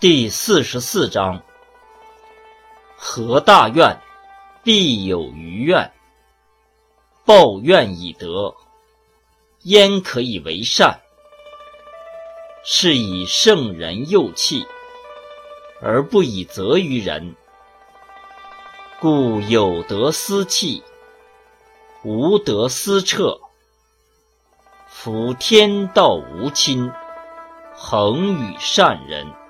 第44章：合大愿，必有余愿。报怨以德，焉可以为善？是以圣人幼弃，而不以责于人。故有德思弃，无德思彻。夫天道无亲，恒与善人。